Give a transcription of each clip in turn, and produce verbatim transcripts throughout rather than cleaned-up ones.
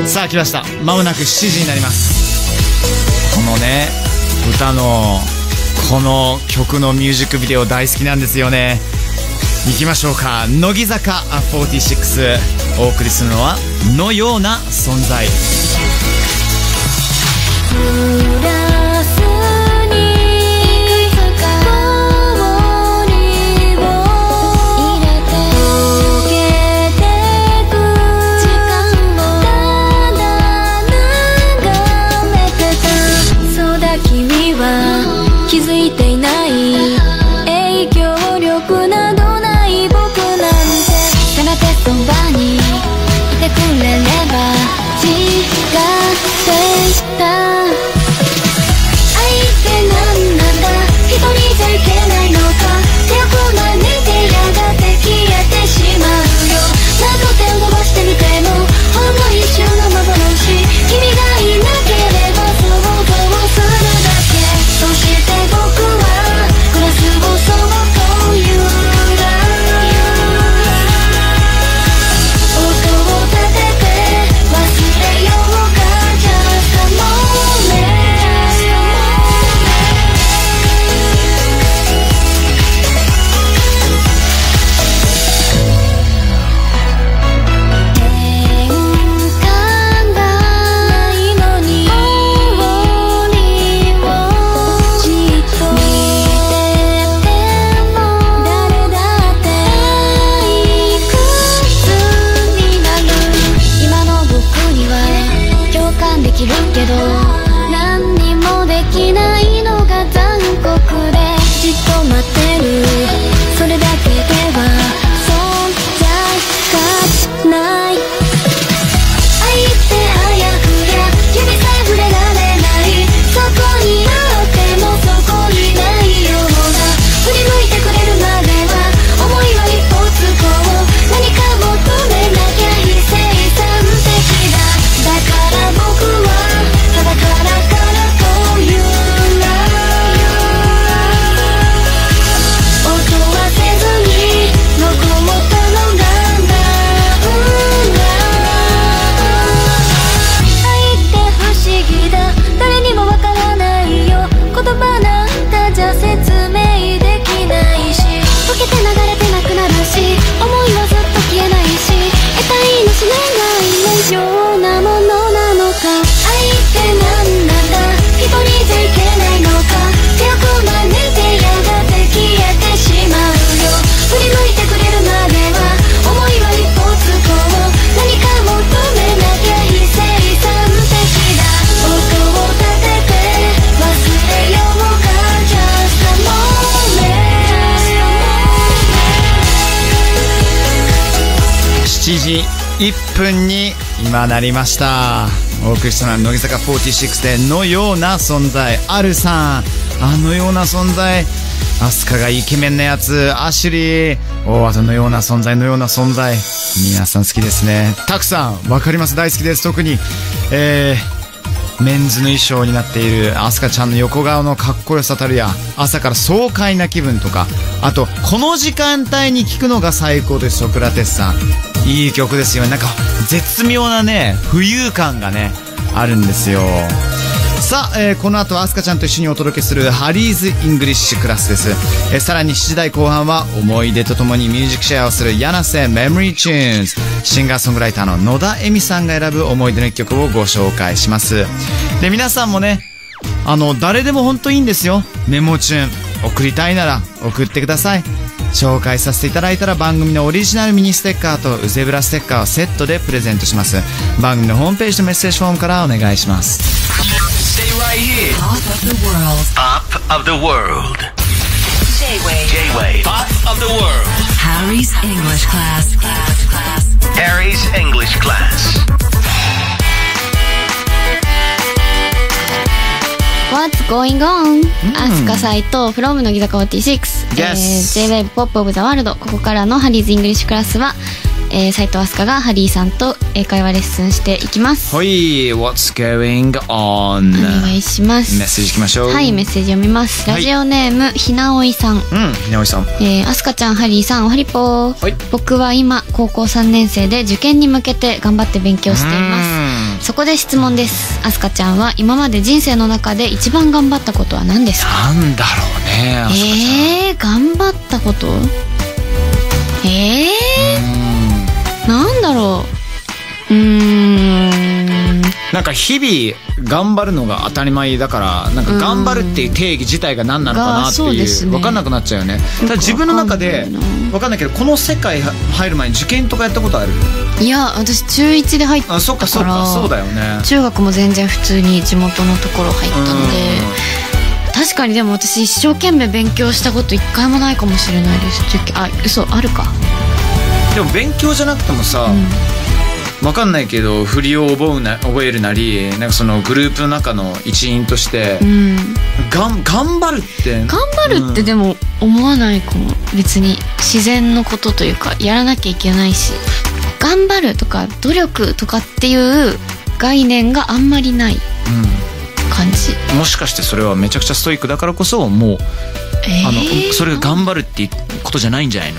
さあ来ました。まもなくしちじになります。このね歌のこの曲のミュージックビデオ大好きなんですよね。行きましょうか。乃木坂フォーティーシックスお送りするのはのような存在。 気づいていない影響力などない僕なんて、せめてそばにいてくれれば違っていた。愛って何なんだ、一人じゃいけないのか、手をこまねてやがて消えてしまうよ。何度手を伸ばしてみてもほんの一瞬の幻、君がいなければ想像するだけ。そして僕はグラスをそっと揺ら音を立てて忘れようか Just a moment。 変化がないのに終わりをじっと見てても誰だっていくつになる。今の僕には共感できるけど何にもできないのが残酷で、じっと待ってるそれだけでは存在がない。愛ってあやふや指さえ触れられない、そこにあってもそこにないような。振り向いてくれるまでは思いは一歩つこう、何か求めなきゃ非生産的だ。だから僕はただカラカラと揺ら音はせずに残ったのがなんだ。愛って不思議だ、誰にもわからないよ。言葉なんかじゃ説明できないし、溶けて流れてなくなるし、思いはずっと消えないし、得体のしないようなものなのか。愛って何なんだ、一人じゃいけないのか、手をこまねてやがて消えてしまうよ。振り向いてくれるまでは思いは一歩つこう、何か求めなきゃ非生産的だ。音を立てて忘れようか Just a moment。 しちじいっぷんに今なりました。お送りしたのは乃木坂フォーティーシックスでのような存在。あるさん、あのような存在、アスカがイケメンなやつ、アシュリー、おあとのような存在、のような存在、皆さん好きですね。たくさんわかります、大好きです。特にえー、メンズの衣装になっているアスカちゃんの横顔のかっこよさたるや、朝から爽快な気分とか、あとこの時間帯に聴くのが最高です。ソクラテスさん、いい曲ですよ。なんか絶妙なね浮遊感がねあるんですよ。さあ、えー、この後はアスカちゃんと一緒にお届けするハリーズイングリッシュクラスです。えー、さらにしちじ台後半は思い出とともにミュージックシェアをする柳瀬メモリーチューンズ、シンガーソングライターの野田恵美さんが選ぶ思い出の一曲をご紹介します。で、皆さんもね、あの誰でも本当いいんですよ。メモチューン送りたいなら送ってください。紹介させていただいたら番組のオリジナルミニステッカーとウゼブラステッカーをセットでプレゼントします。番組のホームページのメッセージフォームからお願いします。 Stay right here. Pop of the world. Pop of the world. J-Wave. J-Wave. Pop of the world. Harry's English class. Class. Class. Harry's English class. What's going on? アスカサイト from 乃木坂フォーティーシックス、 yes. えー、J-Wave Pop of the World。 ここからのハリーズイングリッシュクラスは、えー、斉藤飛鳥がハリーさんと英会話レッスンしていきます。 はい、What's going on? お願いします。 メッセージいきましょう。 はい、メッセージ読みます。ラジオネーム、はい、ひなおいさん。 うん、ひなおいさん。 えー、アスカちゃん、ハリーさん、おはりぽー、はい、僕は今高校さんねん生で受験に向けて頑張って勉強しています。 そこで質問です。アスカちゃんは今まで人生の中で一番頑張ったことは何ですか？ なんだろうね、アスカちゃん。 えー、頑張ったことえー、なんだろう。うーん、 なんか日々頑張るのが当たり前だから、なんか頑張るっていう定義自体が何なのかなっていう、分かんなくなっちゃうよね。ただ自分の中で分かんないけど、この世界入る前に受験とかやったことある？ いや、私中いちで入ったから。 あ、そっかそっか、そうだよね。 中学も全然普通に地元のところ入ったので、確かに。でも私一生懸命勉強したこと一回もないかもしれないです。受験、あ、嘘、あるか。 でも勉強じゃなくてもさ、うん分かんないけど振りを覚えな、覚えるなり、なんかそのグループの中の一員として、うん、がん頑張るって頑張るってでも思わないかも、うん、別に自然のことというか、やらなきゃいけないし、頑張るとか努力とかっていう概念があんまりない感じ、 うん、もしかしてそれはめちゃくちゃストイックだからこそ、もう、えー、あのそれが頑張るっていうことじゃないんじゃないの？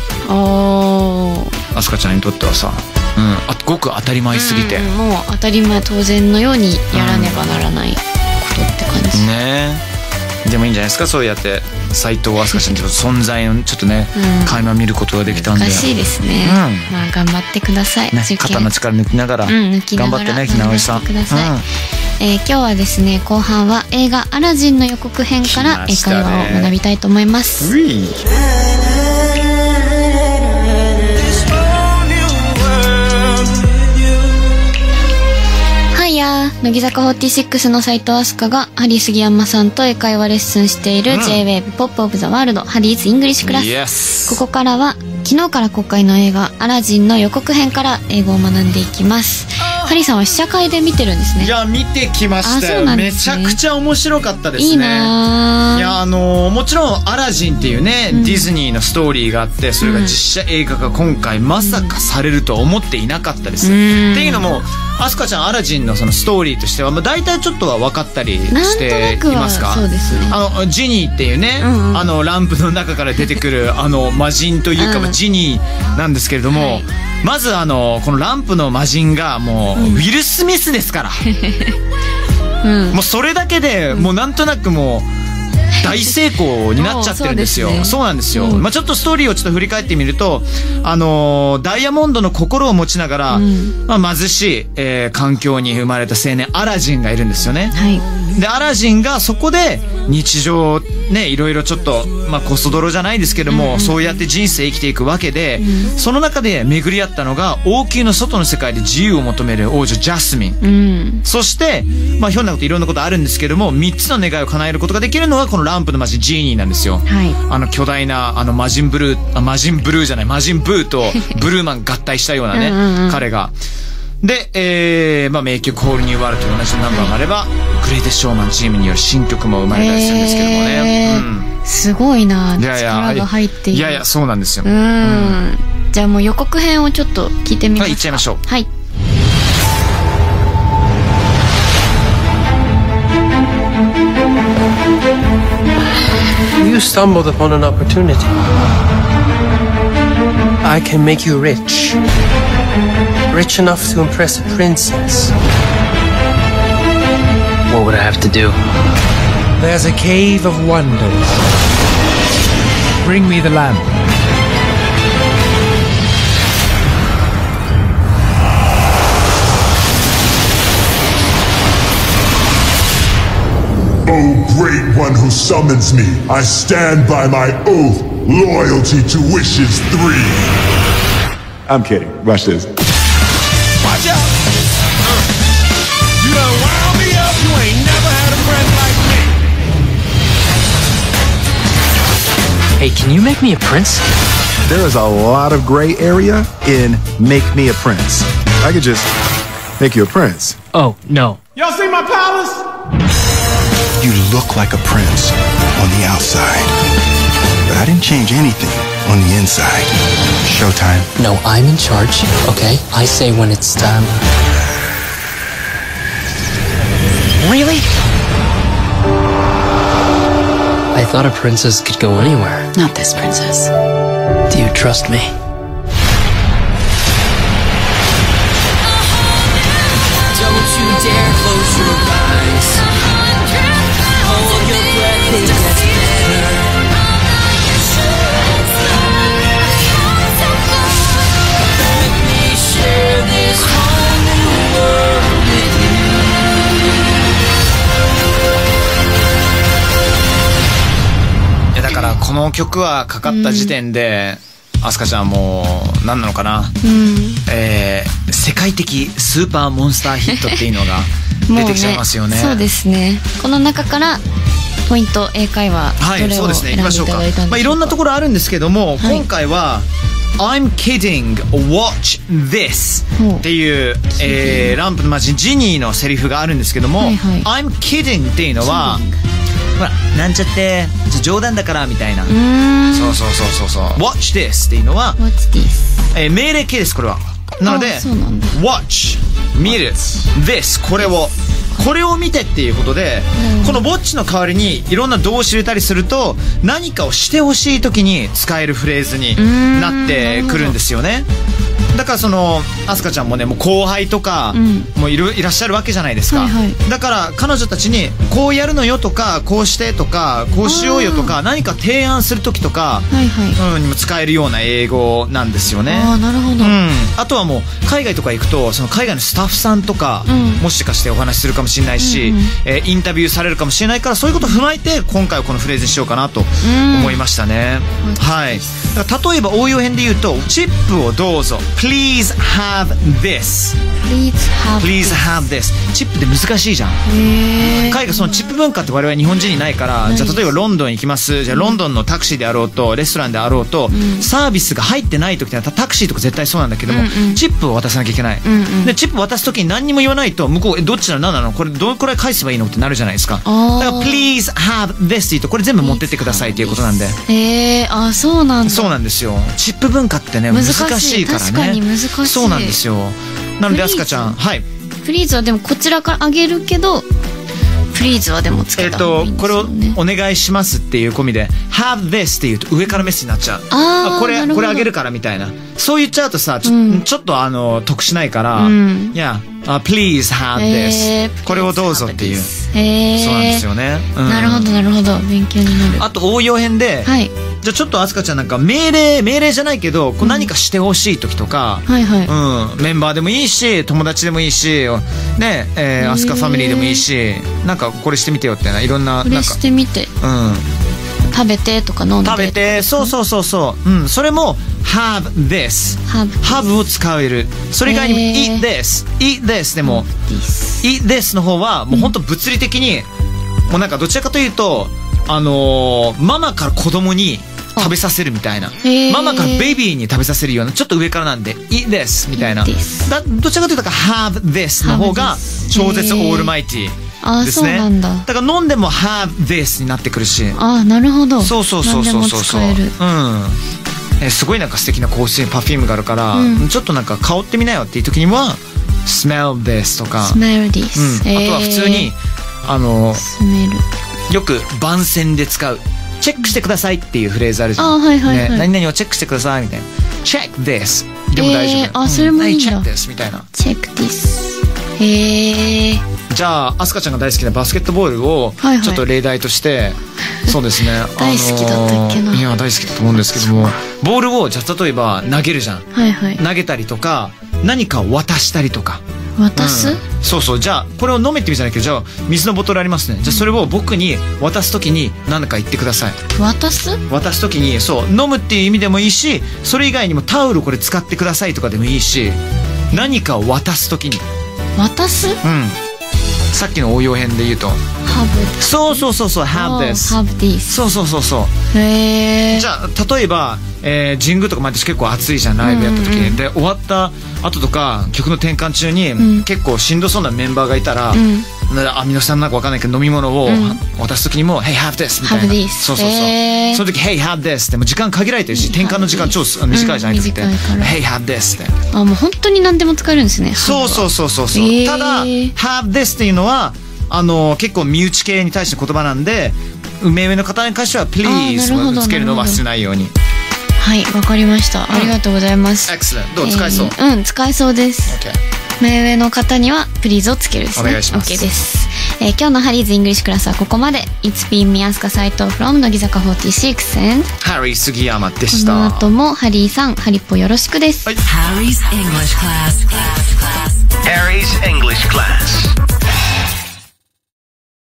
ああ、アスカちゃんにとってはさ、うん、あ、ごく当たり前すぎて、うん、 もう当たり前当然のようにやらねばならないことって感じ、 うん、ねえ。でもいいんじゃないですか、そうやって斉藤飛鳥ちゃんの存在をちょっとね、うん、垣間見ることができたんで。 難しいですね、うん、まあ頑張ってください、ね、 肩の力抜きながら、うん、抜きながら頑張ってね、ひなおいさん。 頑張ってください、うん。えー、今日はですね、後半は映画アラジンの予告編から英会話を学びたいと思います。乃木坂フォーティーシックスの斉藤飛鳥がハリー杉山さんと英会話レッスンしている ジェイウェーブ ポップオブザワールドハリーズイングリッシュクラス、yes. ここからは昨日から公開の映画アラジンの予告編から英語を学んでいきます。ハリーさんは試写会で見てるんですね。 いや、見てきましたよ、ね、めちゃくちゃ面白かったですね。 いいな。 いや、あのー、もちろんアラジンっていうね、うん、ディズニーのストーリーがあって、それが実写映画が今回まさかされるとは思っていなかったです、うん、っていうのもアスカちゃんアラジンのそのストーリーとしては、まあ、大体ちょっとは分かったりしていますか？ そうですね。 あのジニーっていうね、うんうん、あのランプの中から出てくるあの魔人というか、うん、ジニーなんですけれども、はい、まずあのこのランプの魔人がもう、うん、ウィル・スミスですから、うん、もうそれだけでもうなんとなくもう大成功になっちゃってるんですよ。 そうですね。そうなんですよ、うん。まあ、ちょっとストーリーをちょっと振り返ってみると、あのー、ダイヤモンドの心を持ちながら、うん、まあ、貧しい、えー、環境に生まれた青年アラジンがいるんですよね、はい、でアラジンがそこで日常ね、いろいろちょっと、まあ、コソ泥じゃないですけども、うん、そうやって人生生きていくわけで、うん、その中で巡り合ったのが王宮の外の世界で自由を求める王女ジャスミン、うん、そして、まあ、ひょんなこといろんなことあるんですけども、みっつの願いを叶えることができるのがこのランプの魔人ジーニーなんですよ、はい、あの巨大なあの魔人ブルーあ魔人ブルーじゃない魔人ブーとブルーマン合体したようなねうんうん、うん、彼がで、えーまあ、名曲ホールニューワールドと同じナンバーがあれば、はい、グレイテストショーマンチームによる新曲も生まれたりするんですけどもね、えーうん、すごいな。力が入っている。 いやいやそうなんですよ。うん、 うん、じゃあもう予告編をちょっと聞いてみますか。はい、 行っちゃいましょう。 はい。 You stumbled upon an opportunity. I can make you rich. Rich enough to impress a princess. What would I have to do? There's a cave of wonders. Bring me the lamp. O great one who summons me, I stand by my oath, loyalty to wishes three. I'm kidding. Watch this. Watch out! You done wound me up. You ain't never had a friend like me. Hey, can you make me a prince? There is a lot of gray area in make me a prince. I could just make you a prince. Oh, no. Y'all see my palace? You look like a prince on the outside, but I didn't change anything on the inside. Showtime. No, I'm in charge, okay? I say when it's time. Really? I thought a princess could go anywhere. Not this princess. Do you trust me? Don't の曲はかかった時点で、うん、アスカちゃんもう何なのかな、うん、えー、世界的スーパーモンスターヒットっていうのが出てきちゃいますよね。 ね、そうですね。この中からポイント英会話どれを選んでいただいたんでしょうか。はい、そうですね、行きましょうか。 まあ、いろんなところあるんですけども、はい、今回はI'm kidding, watch this っていう、えー、ランプのマジジニーのセリフがあるんですけども、はいはい、I'm kidding っていうのはほらなんちゃって冗談だからみたいな、うーん、そうそうそうそうそう watch this っていうのは watch this、 えー、命令形です。これはなので watch 見る this これをこれを見てっていうことで、うん、このウォッチの代わりにいろんな動詞入れたりすると何かをしてほしい時に使えるフレーズになってくるんですよね。だからそのアスカちゃんもねもう後輩とか、うん、もういるいらっしゃるわけじゃないですか、はいはい、だから彼女たちにこうやるのよとかこうしてとかこうしようよとか何か提案する時とか、はいはい、うん、にも使えるような英語なんですよね。 あ、なるほど、うん、 あとはもう海外とか行くとその海外のスタッフさんとか、うん、もしかしてお話しするかもしれないし、うんうん、えー、インタビューされるかもしれないからそういうことを踏まえて今回はこのフレーズにしようかなと思いましたね、うん、はい。だから例えば応用編で言うとチップをどうぞ Please have this Please have, Please have this チップって難しいじゃん。海外そのチップ文化って我々日本人にないから、じゃあ例えばロンドン行きます、じゃあロンドンのタクシーであろうとレストランであろうと、うん、サービスが入ってない時ってタクシーとか絶対そうなんだけども、うんうん、チップを渡さなきゃいけない、うんうん、でチップ渡す時に何にも言わないと向こうえどっちなの何なのこれどのくらい返せばいいのってなるじゃないですか。だから Please have this って言うとこれ全部持ってってくださいっていうことなんで。 へー、あ、そうなんだ。 そうなんですよ。チップ文化ってね難しいからね。 確かに難しい。 そうなんですよ。なのでアスカちゃん、はい、 プリーズはでもこちらからあげるけどプリーズはでもつけた方がいいんですよね。 えっとこれをお願いしますっていう込みで Have this って言うと上からメッセージになっちゃう。 ああ、これこれあげるからみたいな、そう言っちゃうとさちょ、うん、ちょっとあの得しないから、うん、いや、uh, Please have this、えー、これをどうぞっていう、えー、そうなんですよね、うん、 なるほどなるほど、勉強になる。 あと応用編で、はい、じゃあちょっとアスカちゃんなんか命令命令じゃないけどこう何かしてほしい時とか、うん、はいはい、うん、メンバーでもいいし友達でもいいしね、えー、アスカファミリーでもいいしなんかこれしてみてよってないろんな、 これしてみて、うん、食べてとか飲んで食べて、そうそうそうそう、うん、それも have this have, have を使える。それ以外にも eat this eat this でも eat this の方はもう本当物理的に、うん、もうなんかどちらかというとあのー、ママから子供に食べさせるみたいな、ママからベビーに食べさせるようなちょっと上からなんで eat this みたいな、だどちらかというと have this の方が超絶オールマイティーですね。だから飲んでも have this になってくるし、 あ、なるほど、 そうそうそうそうそうそう、うん、えすごいなんか素敵な香水パフュームがあるから、うん、ちょっとなんか香ってみなよっていう時には smell this とか smell this、 うん、あとは普通にあのよく番宣で使うチェックしてくださいっていうフレーズあるじゃん。あ、はいはいはい、ね、何々をチェックしてくださいみたいな。check this でも大丈夫。えー、 あ、それもいいんだ。 はい、check this みたいな。 check this。へー。 じゃあアスカちゃんが大好きなバスケットボールをちょっと例題として、はいはい、そうですね。 大好きだったっけな。 いや大好きだと思うんですけども、ボールをじゃあ例えば投げるじゃん。 はいはい。 投げたりとか何かを渡したりとか。 渡す、うん、 そうそう。じゃあこれを飲めって意味じゃないけど、じゃあ水のボトルありますね、じゃあそれを僕に渡すときに何か言ってください。 渡す渡すときにそう飲むっていう意味でもいいし、それ以外にもタオルこれ使ってくださいとかでもいいし、何かを渡すときに渡す、うん、 さっきの応用編で言うと have そうそうそうそう have this have this そうそうそうそう。へー。じゃあ例えば、えー、神宮とか毎年結構暑いじゃんライブやった時に、うんうん、で終わった後とか曲の転換中に、うん、結構しんどそうなメンバーがいたら、うん、アミノ酸なんか分かんないけど飲み物を渡す時にも、うん、Hey have this みたいな have this そうそうそう、えー、その時 Hey have this ってもう時間限られてるし転換の時間超短いじゃないですか、うん、Hey have this ってあもう本当に何でも使えるんですね。 そうそうそうそうそう、えー、ただ have this っていうのはあの結構身内系に対しての言葉なんで目上の方に関しては Please つけるのを忘れないように。 はい、わかりました、うん、ありがとうございます。 Excellent。 どう使えそう、 えー、うん使えそうです、okay。目上の方にはプリーズをつけるですね。 お願いします。 OK です、えー、今日のハリーズイングリッシュクラスはここまで。 It's been me アスカ斉藤 from 乃木坂フォーティーシックス and ハリー杉山でした。 この後もハリーさんハリッポよろしくです。 はい、Harry's English class. Harry's English class